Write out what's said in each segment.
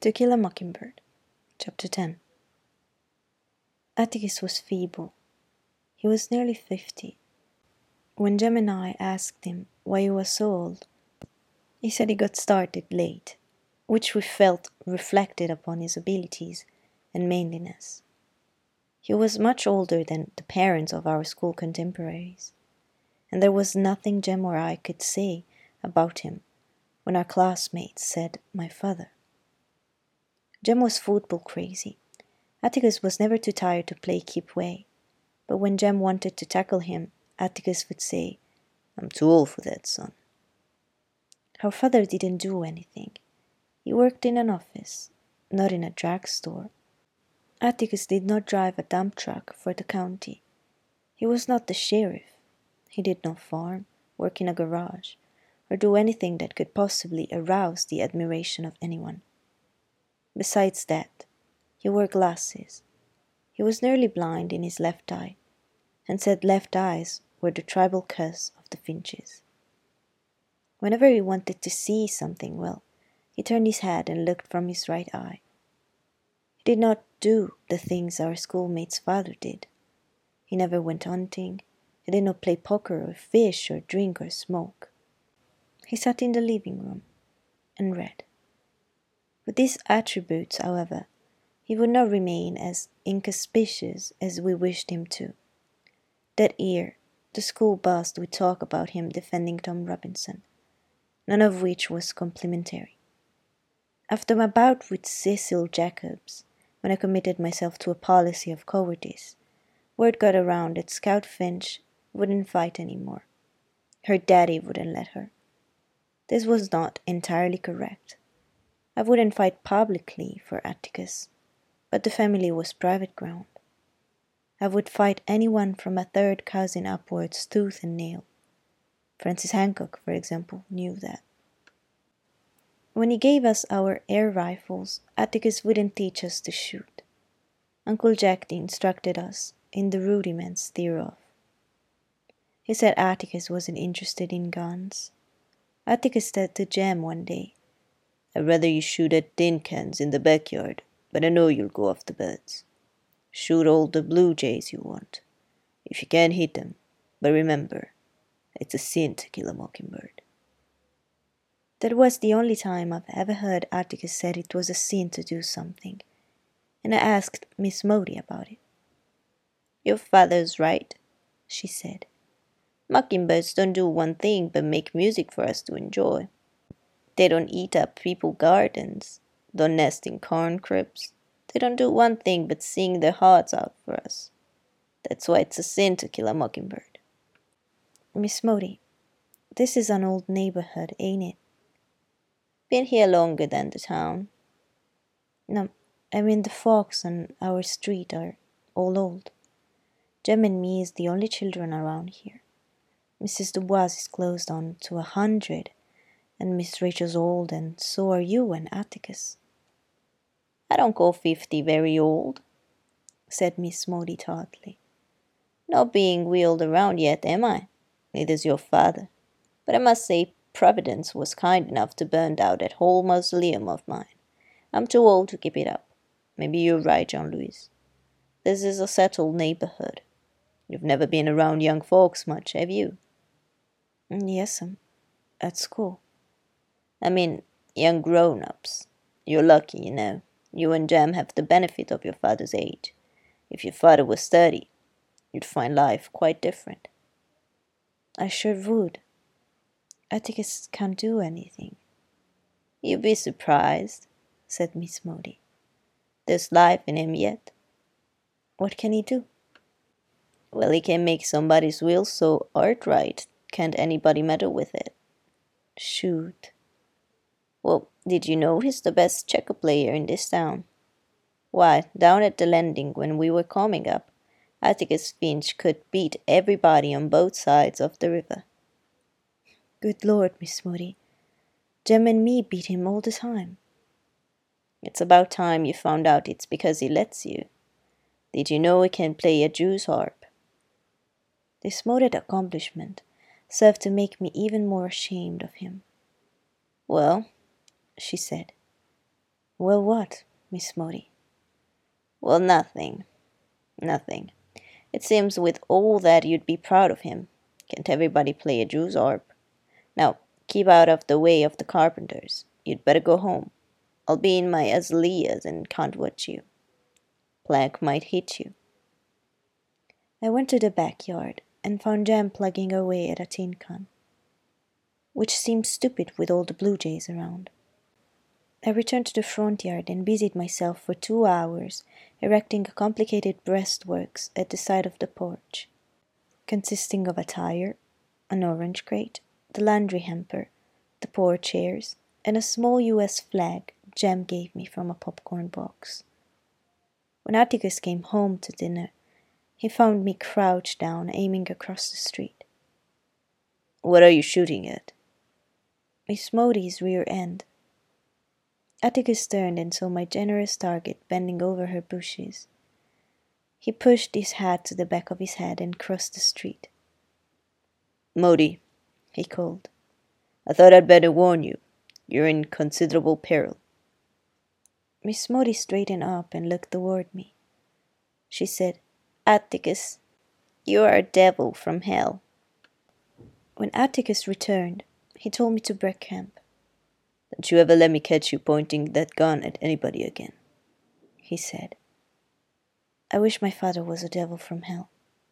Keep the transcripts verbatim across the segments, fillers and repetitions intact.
To Kill a Mockingbird, Chapter ten. Atticus was feeble. He was nearly fifty. When Jem and I asked him why he was so old, he said he got started late, which we felt reflected upon his abilities and manliness. He was much older than the parents of our school contemporaries, and there was nothing Jem or I could say about him when our classmates said my father. Jem was football crazy. Atticus was never too tired to play keep way, but when Jem wanted to tackle him, Atticus would say, "I'm too old for that, son." Our father didn't do anything. He worked in an office, not in a drugstore. Atticus did not drive a dump truck for the county. He was not the sheriff. He did not farm, work in a garage, or do anything that could possibly arouse the admiration of anyone. Besides that, he wore glasses. He was nearly blind in his left eye, and said left eyes were the tribal curse of the Finches. Whenever he wanted to see something well, he turned his head and looked from his right eye. He did not do the things our schoolmates' father did. He never went hunting. He did not play poker or fish or drink or smoke. He sat in the living room and read. With these attributes, however, he would not remain as inconspicuous as we wished him to. That year, the school buzzed with talk about him defending Tom Robinson, none of which was complimentary. After my bout with Cecil Jacobs, when I committed myself to a policy of cowardice, word got around that Scout Finch wouldn't fight any more. Her daddy wouldn't let her. This was not entirely correct. I wouldn't fight publicly for Atticus, but the family was private ground. I would fight anyone from a third cousin upwards tooth and nail. Francis Hancock, for example, knew that. When he gave us our air rifles, Atticus wouldn't teach us to shoot. Uncle Jack instructed us in the rudiments thereof. He said Atticus wasn't interested in guns. Atticus said to Jem one day, "I'd rather you shoot at tin cans in the backyard, but I know you'll go after birds. Shoot all the blue jays you want, if you can hit them, but remember, it's a sin to kill a mockingbird." That was the only time I've ever heard Atticus said it was a sin to do something, and I asked Miss Modi about it. "Your father's right," she said. "Mockingbirds don't do one thing but make music for us to enjoy. They don't eat up people's gardens, don't nest in corn cribs. They don't do one thing but sing their hearts out for us. That's why it's a sin to kill a mockingbird." "Miss Modi, this is an old neighborhood, ain't it?" "Been here longer than the town." "No, I mean the folks on our street are all old. Jem and me is the only children around here. Missus Dubois is close on to a hundred, and Miss Rachel's old, and so are you and Atticus." "I don't call fifty very old," said Miss Modi tartly. "Not being wheeled around yet, am I? Neither's your father. But I must say Providence was kind enough to burn down that whole mausoleum of mine. I'm too old to keep it up. Maybe you're right, Jean-Louis. This is a settled neighborhood. You've never been around young folks much, have you?" "Yes'm, at school." "I mean, young grown-ups. You're lucky, you know. You and Jem have the benefit of your father's age. If your father was thirty, you'd find life quite different." "I sure would. Atticus can't do anything." "You'd be surprised," said Miss Modi. "There's life in him yet." "What can he do?" "Well, he can make somebody's will so outright, can't anybody meddle with it." "Shoot." "Well, did you know he's the best checker player in this town? Why, down at the landing when we were coming up, Atticus Finch could beat everybody on both sides of the river." "Good Lord, Miss Modi. Jem and me beat him all the time." "It's about time you found out it's because he lets you. Did you know he can play a Jew's harp?" This modest accomplishment served to make me even more ashamed of him. "Well," she said, Well, what, Miss Modi? Well, nothing. Nothing. It seems with all that you'd be proud of him. Can't everybody play a Jew's harp? Now, keep out of the way of the carpenters. You'd better go home. I'll be in my azaleas and can't watch you. Plague might hit you. I went to the backyard and found Jem plugging away at a tin can, which seemed stupid with all the blue jays around. I returned to the front yard and busied myself for two hours erecting a complicated breastworks at the side of the porch, consisting of a tire, an orange crate, the laundry hamper, the pour chairs, and a small U S flag Jem gave me from a popcorn box. When Atticus came home to dinner, he found me crouched down aiming across the street. What are you shooting at? Miss Modi's rear end. Atticus turned and saw my generous target bending over her bushes. He pushed his hat to the back of his head and crossed the street. Modi, he called. I thought I'd better warn you. You're in considerable peril. Miss Modi straightened up and looked toward me. She said, Atticus, you are a devil from hell. When Atticus returned, he told me to break camp. Don't you ever let me catch you pointing that gun at anybody again, he said. I wish my father was a devil from hell.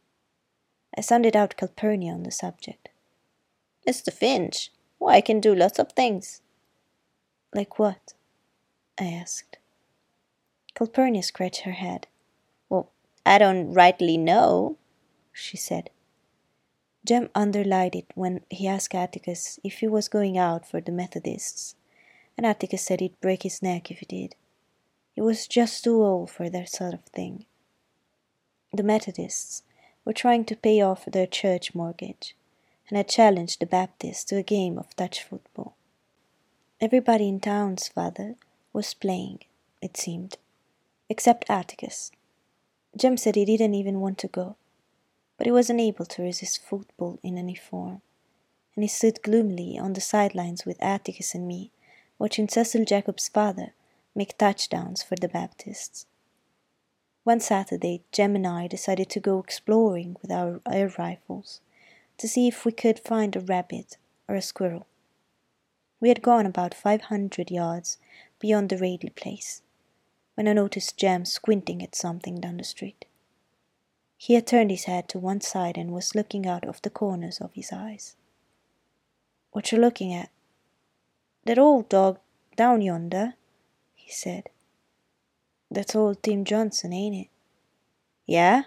I sounded out Calpurnia on the subject. Mister Finch, why, I can do lots of things. Like what? I asked. Calpurnia scratched her head. Well, I don't rightly know, she said. Jem underlined it when he asked Atticus if he was going out for the Methodists, and Atticus said he'd break his neck if he did. He was just too old for that sort of thing. The Methodists were trying to pay off their church mortgage, and had challenged the Baptists to a game of touch football. Everybody in town's father was playing, it seemed, except Atticus. Jem said he didn't even want to go, but he was unable to resist football in any form, and he stood gloomily on the sidelines with Atticus and me, watching Cecil Jacob's father make touchdowns for the Baptists. One Saturday, Jem and I decided to go exploring with our air rifles to see if we could find a rabbit or a squirrel. We had gone about five hundred yards beyond the Radley place when I noticed Jem squinting at something down the street. He had turned his head to one side and was looking out of the corners of his eyes. What you looking at? That old dog down yonder, he said. That's old Tim Johnson, ain't it? Yeah?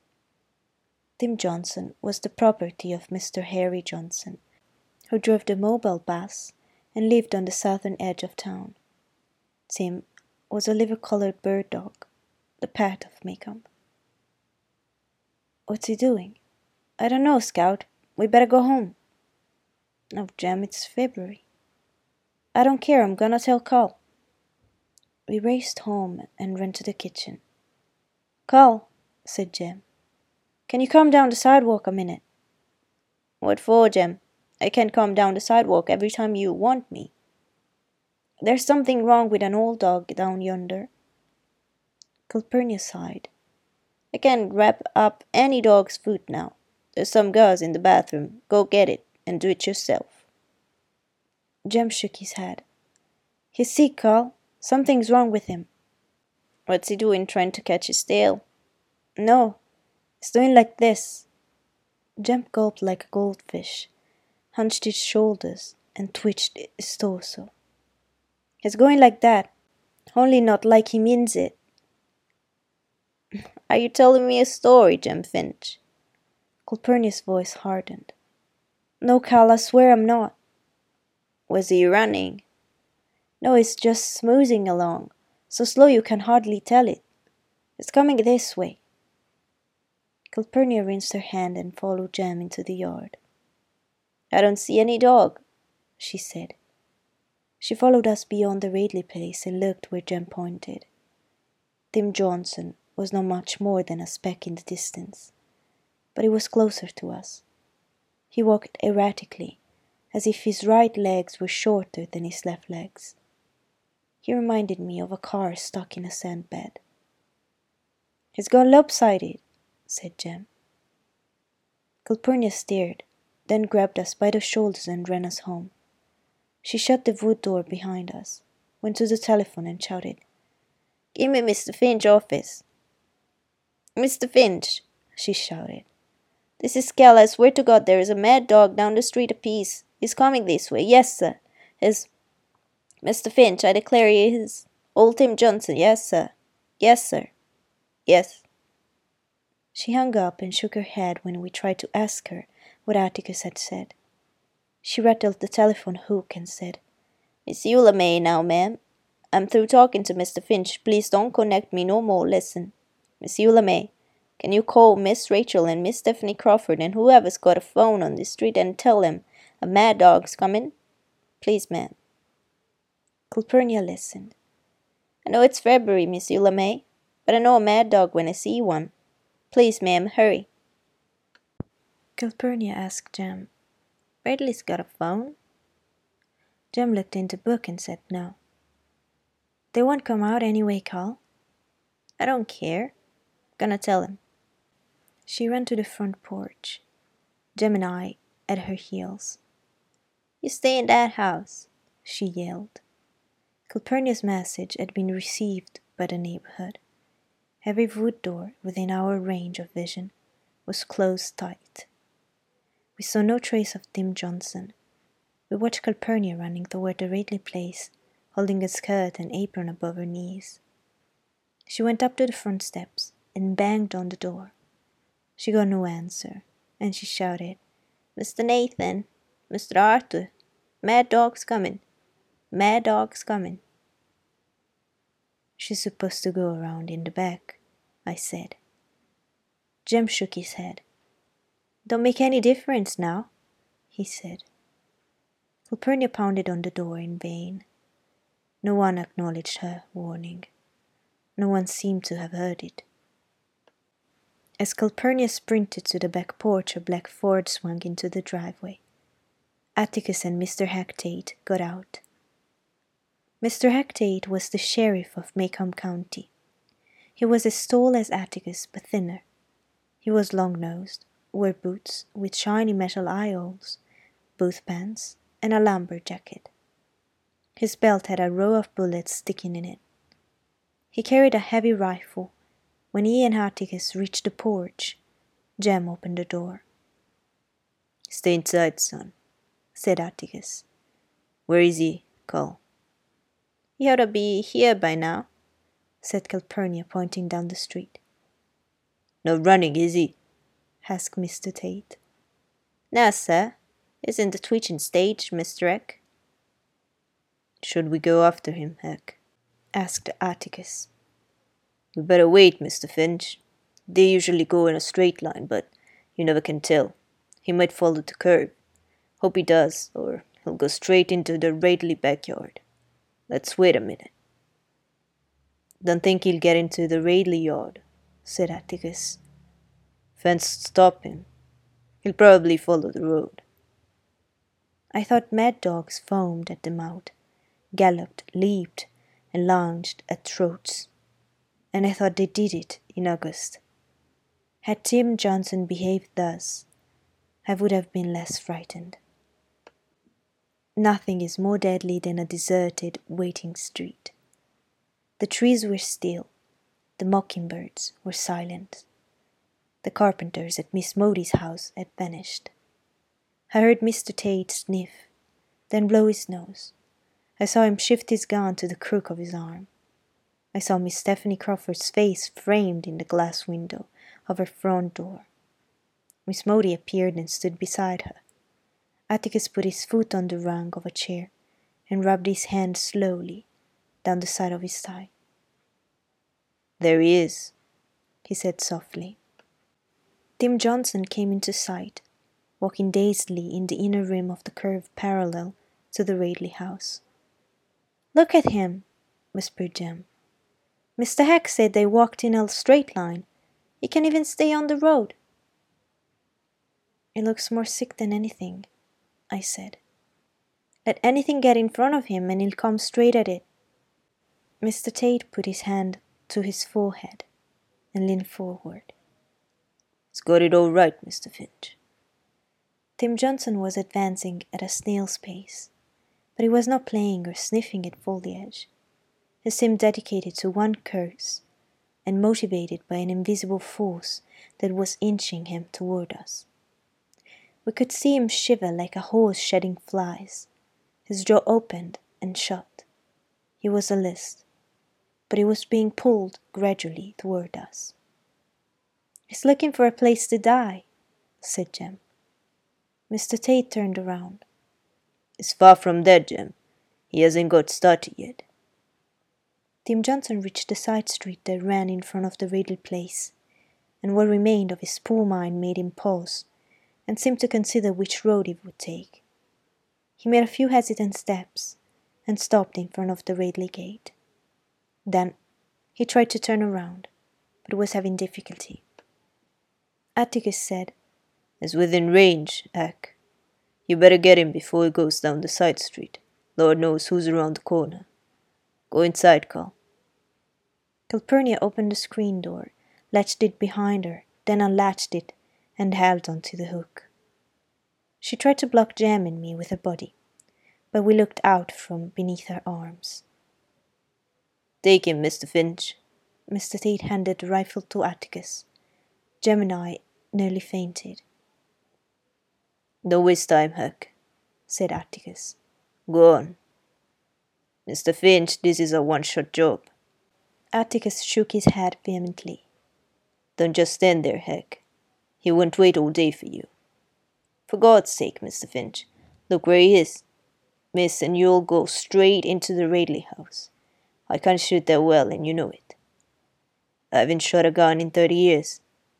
Tim Johnson was the property of Mister Harry Johnson, who drove the mobile bus and lived on the southern edge of town. Tim was a liver-colored bird dog, the pet of Maycomb. What's he doing? I don't know, Scout. We better go home. Oh, Jem, it's February. I don't care, I'm gonna tell Carl. We raced home and ran to the kitchen. Carl, said Jem, can you come down the sidewalk a minute? What for, Jem? I can't come down the sidewalk every time you want me. There's something wrong with an old dog down yonder. Calpurnia sighed. I can't wrap up any dog's foot now. There's some gauze in the bathroom. Go get it and do it yourself. Jem shook his head. He's sick, Carl. Something's wrong with him. What's he doing, trying to catch his tail? No, he's doing like this. Jem gulped like a goldfish, hunched his shoulders, and twitched his torso. He's going like that, only not like he means it. Are you telling me a story, Jem Finch? Calpurnia's voice hardened. No, Carl, I swear I'm not. Was he running? No, it's just smoothing along, so slow you can hardly tell it. It's coming this way. Calpurnia rinsed her hand and followed Jem into the yard. I don't see any dog, she said. She followed us beyond the Radley place and looked where Jem pointed. Tim Johnson was not much more than a speck in the distance, but he was closer to us. He walked erratically, as if his right legs were shorter than his left legs. He reminded me of a car stuck in a sandbed. "He's gone lopsided," said Jem. Calpurnia stared, then grabbed us by the shoulders and ran us home. She shut the wood door behind us, went to the telephone and shouted, "Give me Mister Finch's office." "Mister Finch," she shouted. "This is Cal. I swear to God there is a mad dog down the street apiece. He's coming this way. Yes, sir. His... Mister Finch, I declare he is old Tim Johnson. Yes, sir. Yes, sir. Yes." She hung up and shook her head when we tried to ask her what Atticus had said. She rattled the telephone hook and said, "Miss Eula May now, ma'am. I'm through talking to Mister Finch. Please don't connect me no more. Listen. Miss Eula May, can you call Miss Rachel and Miss Stephanie Crawford and whoever's got a phone on this street and tell them a mad dog's coming? Please, ma'am." Calpurnia listened. "I know it's February, Miss Eula May, but I know a mad dog when I see one. Please, ma'am, hurry." Calpurnia asked Jem, "Bradley's got a phone?" Jem looked in the book and said no. "They won't come out anyway, Cal." "I don't care. Gonna tell him." She ran to the front porch, Jem and I at her heels. "You stay in that house," she yelled. Calpurnia's message had been received by the neighborhood. Every wood door within our range of vision was closed tight. We saw no trace of Tim Johnson. We watched Calpurnia running toward the Radley place, holding a skirt and apron above her knees. She went up to the front steps and banged on the door. She got no answer, and she shouted, "Mister Nathan, Mister Arthur, mad dog's coming, mad dog's coming." "She's supposed to go around in the back," I said. Jem shook his head. "Don't make any difference now," he said. Calpurnia pounded on the door in vain. No one acknowledged her warning. No one seemed to have heard it. As Calpurnia sprinted to the back porch, a black Ford swung into the driveway. Atticus and Mister Hectate got out. Mister Hectate was the sheriff of Macomb County. He was as tall as Atticus, but thinner. He was long-nosed, wore boots with shiny metal eye-holes, boot pants, and a lumber jacket. His belt had a row of bullets sticking in it. He carried a heavy rifle. When he and Atticus reached the porch, Jem opened the door. "Stay inside, son," said Atticus. "Where is he, Cal?" "He ought to be here by now," said Calpurnia, pointing down the street. "No running, is he?" asked Mister Tate. "No, sir. He's in the twitching stage, Mister Eck." "Should we go after him, Heck?" asked Atticus. "We better wait, Mister Finch. They usually go in a straight line, but you never can tell. He might follow the curve. Hope he does, or he'll go straight into the Radley backyard. Let's wait a minute." "Don't think he'll get into the Radley yard," said Atticus. "Fence stop him. He'll probably follow the road." I thought mad dogs foamed at the mouth, galloped, leaped, and lunged at throats. And I thought they did it in August. Had Tim Johnson behaved thus, I would have been less frightened. Nothing is more deadly than a deserted, waiting street. The trees were still. The mockingbirds were silent. The carpenters at Miss Mody's house had vanished. I heard Mister Tate sniff, then blow his nose. I saw him shift his gun to the crook of his arm. I saw Miss Stephanie Crawford's face framed in the glass window of her front door. Miss Mody appeared and stood beside her. Atticus put his foot on the rung of a chair and rubbed his hand slowly down the side of his thigh. "There he is," he said softly. Tim Johnson came into sight, walking dazedly in the inner rim of the curve parallel to the Radley house. "Look at him," whispered Jem. "Mister Heck said they walked in a straight line. He can even stay on the road." "He looks more sick than anything," I said. "Let anything get in front of him and he'll come straight at it." Mister Tate put his hand to his forehead and leaned forward. It's got it all right, Mister Finch. Tim Johnson was advancing at a snail's pace, but he was not playing or sniffing at foliage. He seemed dedicated to one course, and motivated by an invisible force that was inching him toward us. We could see him shiver like a horse shedding flies. His jaw opened and shut. He was alert, but he was being pulled gradually toward us. "He's looking for a place to die," said Jem. Mister Tate turned around. "It's far from dead, Jem. He hasn't got started yet." Tim Johnson reached the side street that ran in front of the Riddle place, and what remained of his poor mind made him pause, and seemed to consider which road he would take. He made a few hesitant steps, and stopped in front of the Ridley gate. Then he tried to turn around, but was having difficulty. Atticus said, "It's within range, Ack. You better get him before he goes down the side street. Lord knows who's around the corner. Go inside, Carl." Calpurnia opened the screen door, latched it behind her, then unlatched it, and held on to the hook. She tried to block Jem and me with her body, but we looked out from beneath her arms. "Take him, Mister Finch." Mister Tate handed the rifle to Atticus. Jem and I nearly fainted. "Don't waste time, Huck," said Atticus. "Go on. Mister Finch, this is a one-shot job." Atticus shook his head vehemently. "Don't just stand there, Huck. He won't wait all day for you. For God's sake, Mister Finch, look where he is. Miss, and you'll go straight into the Radley house. I can't shoot that well, and you know it. I haven't shot a gun in thirty years.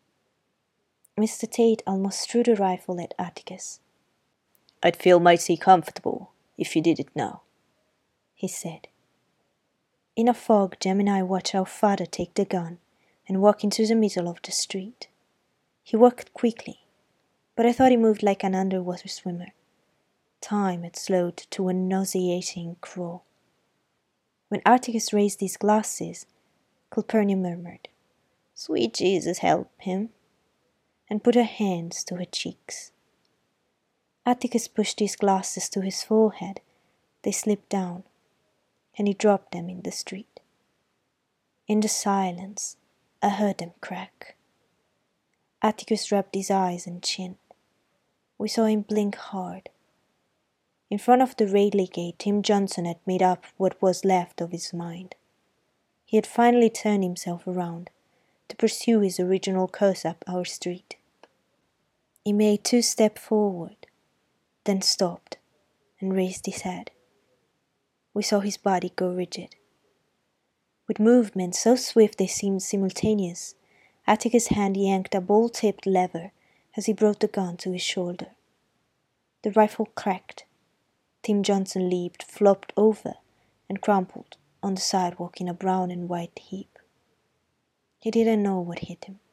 Mister Tate almost threw the rifle at Atticus. "I'd feel mighty comfortable if you did it now," he said. In a fog, Jem and I watched our father take the gun and walk into the middle of the street. He walked quickly, but I thought he moved like an underwater swimmer. Time had slowed to a nauseating crawl. When Atticus raised his glasses, Calpurnia murmured, "Sweet Jesus, help him," and put her hands to her cheeks. Atticus pushed his glasses to his forehead. They slipped down, and he dropped them in the street. In the silence, I heard them crack. Atticus rubbed his eyes and chin. We saw him blink hard. In front of the Radley gate, Tim Johnson had made up what was left of his mind. He had finally turned himself around to pursue his original course up our street. He made two steps forward, then stopped and raised his head. We saw his body go rigid. With movements so swift they seemed simultaneous, Atticus' hand yanked a ball-tipped lever as he brought the gun to his shoulder. The rifle cracked. Tim Johnson leaped, flopped over, and crumpled on the sidewalk in a brown and white heap. He didn't know what hit him.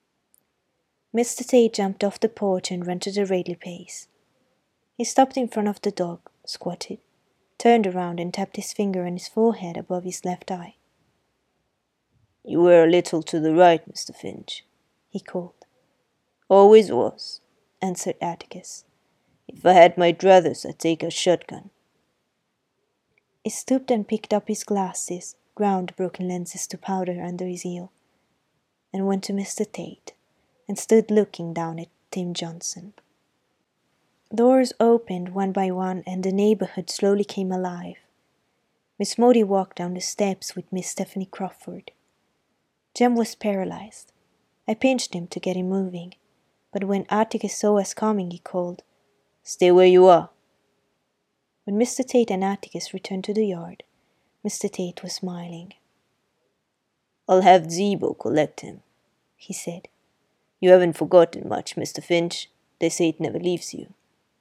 Mister Tate jumped off the porch and ran to the Radley place. He stopped in front of the dog, squatted, turned around and tapped his finger on his forehead above his left eye. "You were a little to the right, Mister Finch," he called. "Always was," answered Atticus. "If I had my druthers, I'd take a shotgun." He stooped and picked up his glasses, ground the broken lenses to powder under his heel, and went to Mister Tate, and stood looking down at Tim Johnson. Doors opened one by one, and the neighborhood slowly came alive. Miss Maudie walked down the steps with Miss Stephanie Crawford. Jem was paralyzed. I pinched him to get him moving, but when Atticus saw us coming, he called, "Stay where you are." When Mister Tate and Atticus returned to the yard, Mister Tate was smiling. "I'll have Zeebo collect him," he said. "You haven't forgotten much, Mister Finch. They say it never leaves you."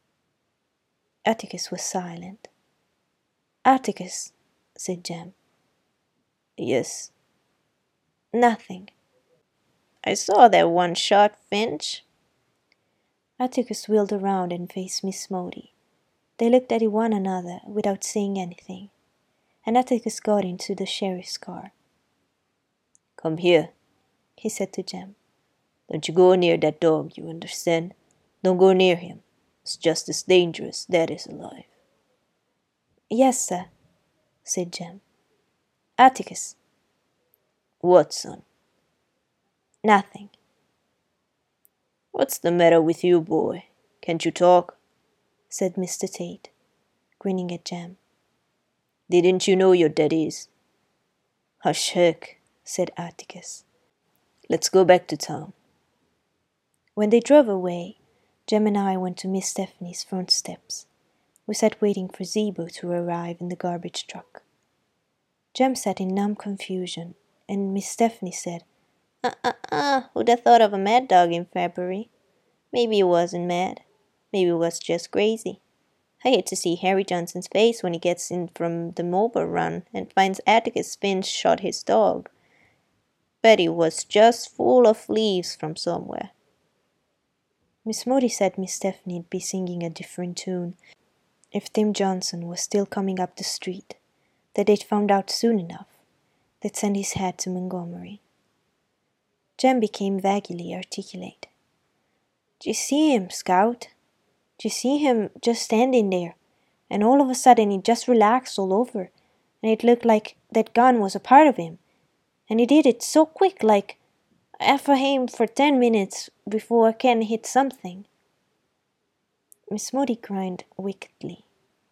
Atticus was silent. "Atticus," said Jem. "Yes." "Nothing." "I saw that one shot, Finch." Atticus wheeled around and faced Miss Maudie. They looked at one another without saying anything. and Atticus got into the sheriff's car. "Come here," he said to Jem. "Don't you go near that dog, you understand? Don't go near him. It's just as dangerous, Dad is alive." "Yes, sir," said Jem. "Atticus." "What, son?" "Nothing." "What's the matter with you, boy? Can't you talk?" said Mister Tate, grinning at Jem. "Didn't you know your dad is?" "Hush, heck," said Atticus. "Let's go back to town." When they drove away, Jem and I went to Miss Stephanie's front steps. We sat waiting for Zeebo to arrive in the garbage truck. Jem sat in numb confusion, and Miss Stephanie said, Uh-uh-uh, who'd have thought of a mad dog in February? Maybe he wasn't mad. Maybe he was just crazy. I hate to see Harry Johnson's face when he gets in from the Marlborough run and finds Atticus Finch shot his dog. Bet he was just full of leaves from somewhere. Miss Modi said Miss Stephanie'd be singing a different tune if Tim Johnson was still coming up the street, that they'd found out soon enough. They'd send his head to Montgomery. Jem became vaguely articulate. "Do you see him, Scout? Do you see him just standing there? And all of a sudden he just relaxed all over, and it looked like that gun was a part of him. And he did it so quick, like half a aim for ten minutes before Ken hit something." Miss Modi grinned wickedly.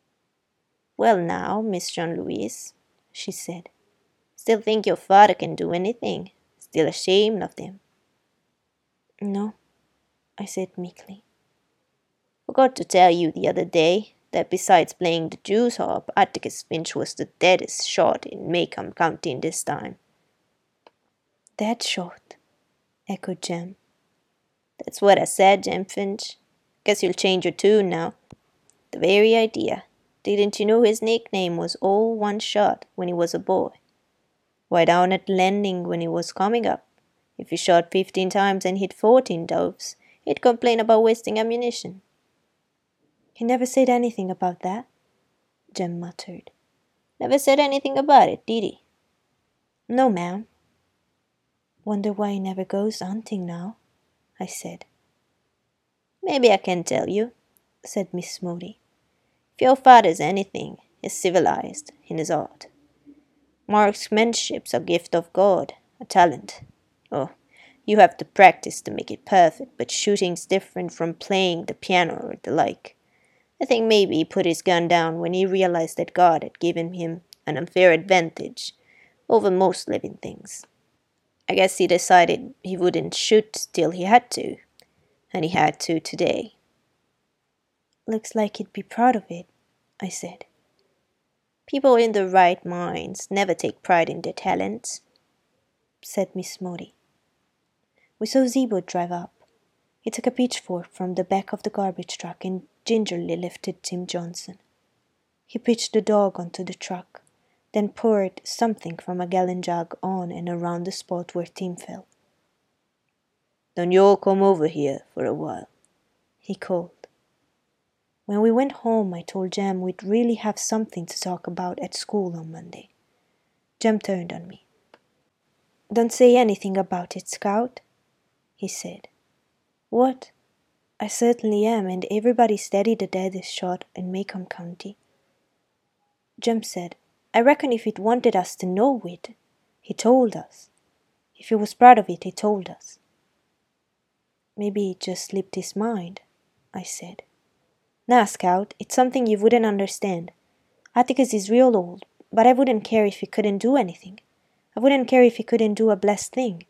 "Well now, Miss Jean-Louise," she said, "still think your father can do anything? Still ashamed of him?" "No," I said meekly. "Forgot to tell you the other day that besides playing the Jew's harp, Atticus Finch was the deadest shot in Macomb County in this time." "Dead shot," echoed Jem. "That's what I said, Jem Finch. Guess you'll change your tune now. The very idea. Didn't you know his nickname was All One Shot when he was a boy? Why, down at the landing when he was coming up, if he shot fifteen times and hit fourteen doves, he'd complain about wasting ammunition." "He never said anything about that," Jem muttered. "Never said anything about it, did he?" "No, ma'am." "Wonder why he never goes hunting now," I said. "Maybe I can tell you," said Miss Modi. "If your father's anything, he's civilized in his art. Marksmanship's a gift of God, a talent. Oh, you have to practice to make it perfect, but shooting's different from playing the piano or the like. I think maybe he put his gun down when he realized that God had given him an unfair advantage over most living things. I guess he decided he wouldn't shoot till he had to, and he had to today." "Looks like he'd be proud of it," I said. "People in their right minds never take pride in their talents," said Miss Modi. We saw Zeebo drive up. He took a pitchfork from the back of the garbage truck and gingerly lifted Tim Johnson. He pitched the dog onto the truck, then poured something from a gallon jug on and around the spot where Tim fell. "Don't you all come over here for a while," he called. When we went home, I told Jem we'd really have something to talk about at school on Monday. Jem turned on me. "Don't say anything about it, Scout," he said. "What? I certainly am, and everybody's steady the deadest shot in Macomb County." Jem said, "I reckon if he'd wanted us to know it, he told us. If he was proud of it, he told us." "Maybe it just slipped his mind," I said. "Nah, Scout, it's something you wouldn't understand. Atticus is real old, but I wouldn't care if he couldn't do anything. I wouldn't care if he couldn't do a blessed thing."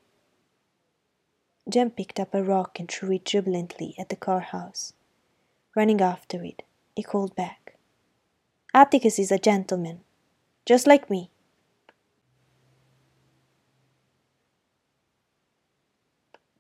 Jem picked up a rock and threw it jubilantly at the car house. Running after it, he called back, "Atticus is a gentleman, just like me.